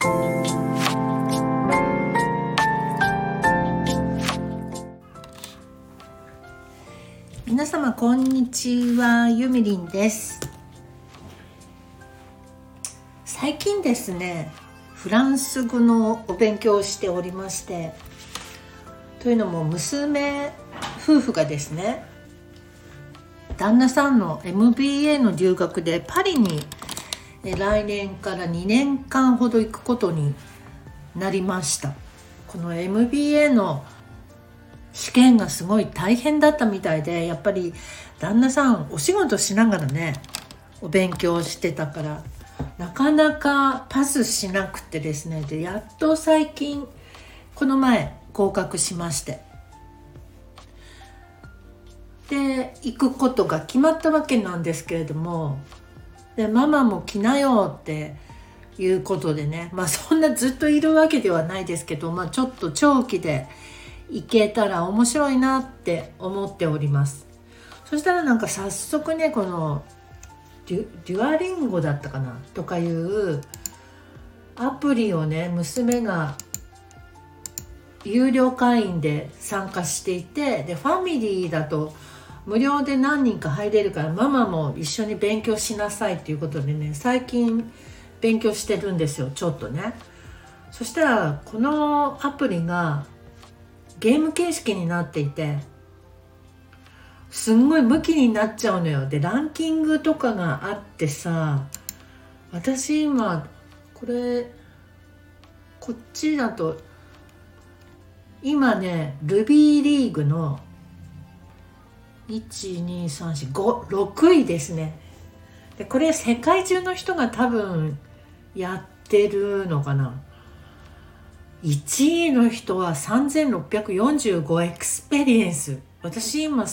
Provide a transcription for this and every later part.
皆様こんにちは、ゆみりんです。最近ですね、フランス語のお勉強をしておりまして、というのも娘夫婦がですね、旦那さんの MBA の留学でパリに来年から2年間ほど行くことになりました。この MBA の試験がすごい大変だったみたいで、やっぱり旦那さんお仕事しながらねお勉強してたからなかなかパスしなくてですね、でやっと最近この前合格しまして、で行くことが決まったわけなんですけれども、でママも来なよっていうことでね、そんなずっといるわけではないですけど、ちょっと長期で行けたら面白いなって思っております。そしたら早速ね、このデュアリンゴだったかなとかいうアプリをね、娘が有料会員で参加していて、でファミリーだと無料で何人か入れるから、ママも一緒に勉強しなさいっていうことでね、最近勉強してるんですよ、ちょっとね。そしたらこのアプリがゲーム形式になっていて、すんごいムキになっちゃうのよ。でランキングとかがあってさ、私今こっちだと今ねルビーリーグの12345 位ですね。でこれ世界中の人が多分やってるのかな。1位の人は3645エクスペリエンス、私今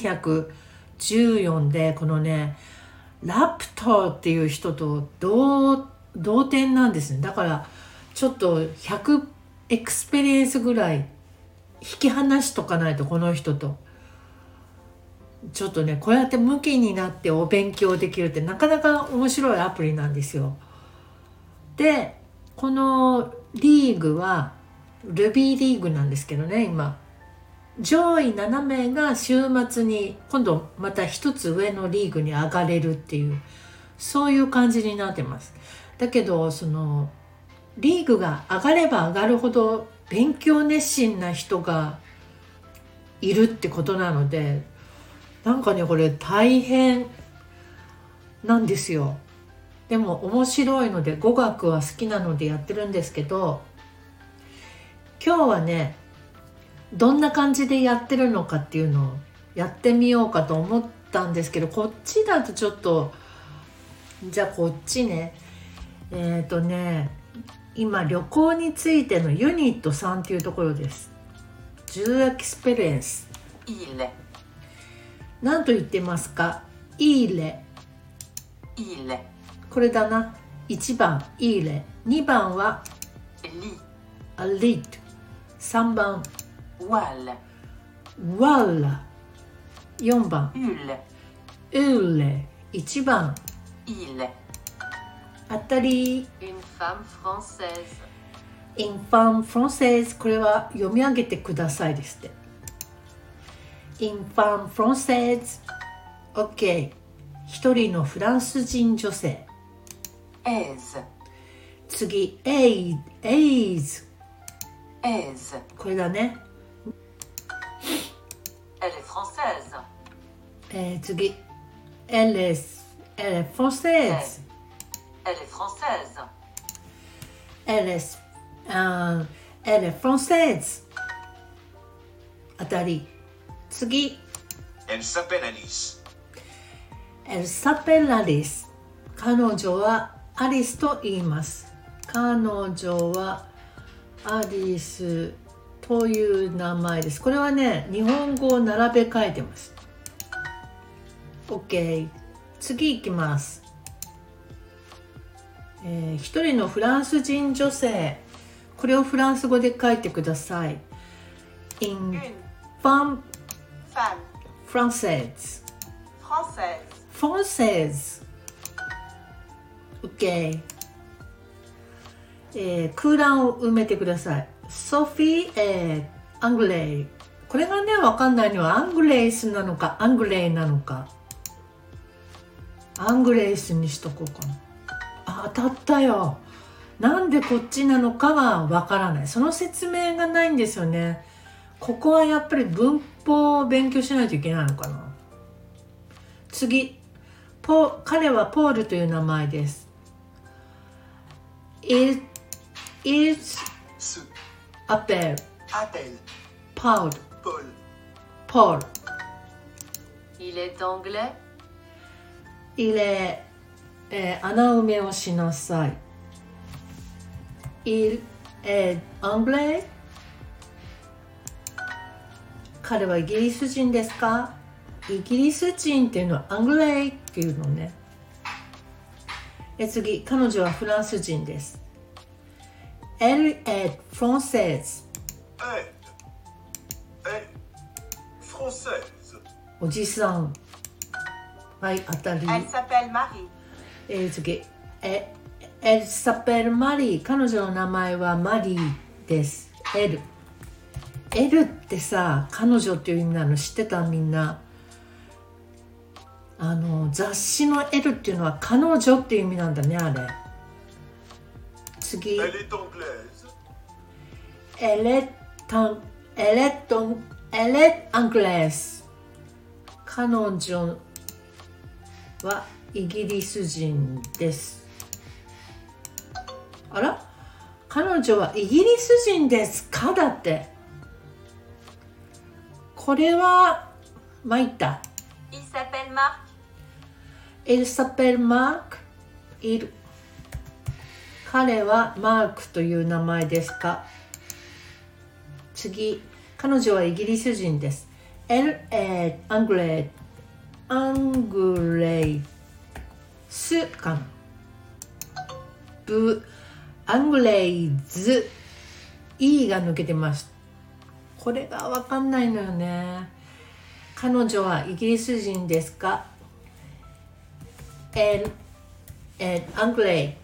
1114で、このねラプトーっていう人と同点なんですね。だからちょっと100エクスペリエンスぐらい引き離しとかないと、この人とちょっとね、こうやって向きになってお勉強できるってなかなか面白いアプリなんですよ。でこのリーグはルビーリーグなんですけどね、今上位7名が週末に今度また一つ上のリーグに上がれるっていう、そういう感じになってます。だけどそのリーグが上がれば上がるほど勉強熱心な人がいるってことなので、これ大変なんですよ。でも面白いので、語学は好きなのでやってるんですけど、今日はねどんな感じでやってるのかっていうのをやってみようかと思ったんですけど、こっちだとちょっと、じゃあこっちね、今旅行についてのユニット3っていうところです。10エクスペリエンス。 いいね。 何と言ってますか？いいね。 いいね。 これだな。1番いいね、2番はアリート、3番ワラ、4番ウーレ、1番当たり。 Une femme française。 Une femme française、 これは読み上げてくださいですって。Une femme française。 OK。 一人のフランス人女性。次エイズ。これだね。 Elle est française。 次Elle est française。 Elle est française。 Elle est française。 当たり。次 Elle s'appelle Alice。 Elle s'appelle Alice。 彼女はアリスと言います。彼女はアリスという名前です。これはね日本語を並べ替えてます。 OK。 次いきます。一人のフランス人女性、これをフランス語で書いてください。 Une femme française。 OK。 空欄を埋めてください。ソフィー、アングレイ。これがね、わかんないのはアングレイスなのかアングレイなのか。アングレイスにしとこうかな。あ、当たったよ。なんでこっちなのかがわからない。その説明がないんですよね。ここはやっぱり文法を勉強しないといけないのかな。次、彼はポールという名前です。Il appelle Paul. Paul. Il est anglais. Il est、穴埋めをしなさい。Il est anglais. 彼はイギリス人ですか？イギリス人っていうのはアングレイっていうのね。次、彼女はフランス人です。Elle est française. Française. おじさん。はい、当たり。 Elle s'appelle Marie. 次、Elle s'appelle Marie。彼女の名前はマリーです。L ってさ、彼女っていう意味なの知ってた？みんな。雑誌の L っていうのは彼女っていう意味なんだね、あれ。次。 Elle est anglaise. Elle est anglaise。彼女はイギリス人です。あら？彼女はイギリス人ですか？だって。これは参った。 Il s'appelle Marc. Il s'appelle Marc. いる。彼はマークという名前ですか？次、彼女はイギリス人です。Elle est anglaise。アングレイスかな。アングレイズ。E が抜けてます。これが分かんないのよね。彼女はイギリス人ですか？ Elle est anglaise。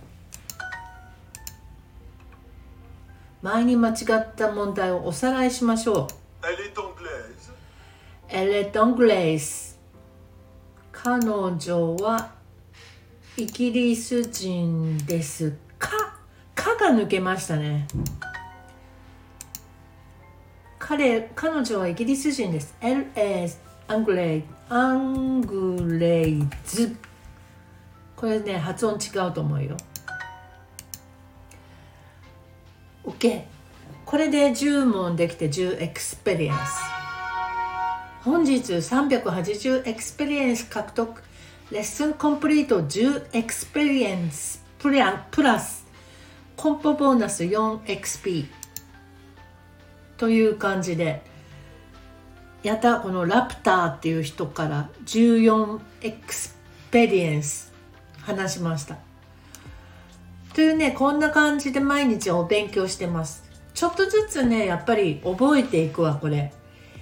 前に間違った問題をおさらいしましょう。 Elle est anglaise. Elle est anglaise。彼女はイギリス人ですか？かが抜けましたね。彼女はイギリス人です。Elle est anglaise。アングレイズ。これね、発音違うと思うよ。OK。これで10問できて10エクスペリエンス。本日380エクスペリエンス獲得。レッスンコンプリート10エクスペリエンスプラスコンポボーナス 4XP という感じでやった。このラプターっていう人から14エクスペリエンス話しましたというね。こんな感じで毎日お勉強してます。ちょっとずつね、やっぱり覚えていくわ。これ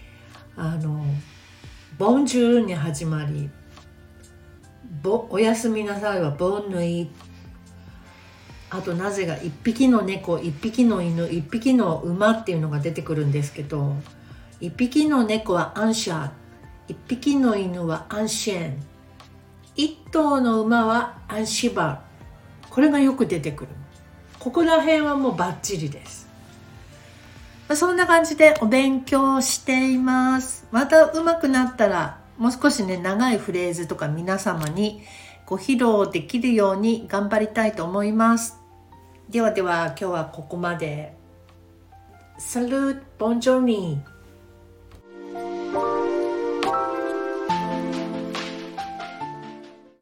ボンジュールに始まり、おやすみなさいはボンヌイ。あとなぜが1匹の猫、1匹の犬、1匹の馬っていうのが出てくるんですけど、1匹の猫はアンシャー、1匹の犬はアンシェン、1頭の馬はアンシバー。これがよく出てくる。ここら辺はもうバッチリです。そんな感じでお勉強しています。また上手くなったらもう少しね、長いフレーズとか皆様にご披露できるように頑張りたいと思います。ではでは今日はここまで。サルート、ボンジョルニー。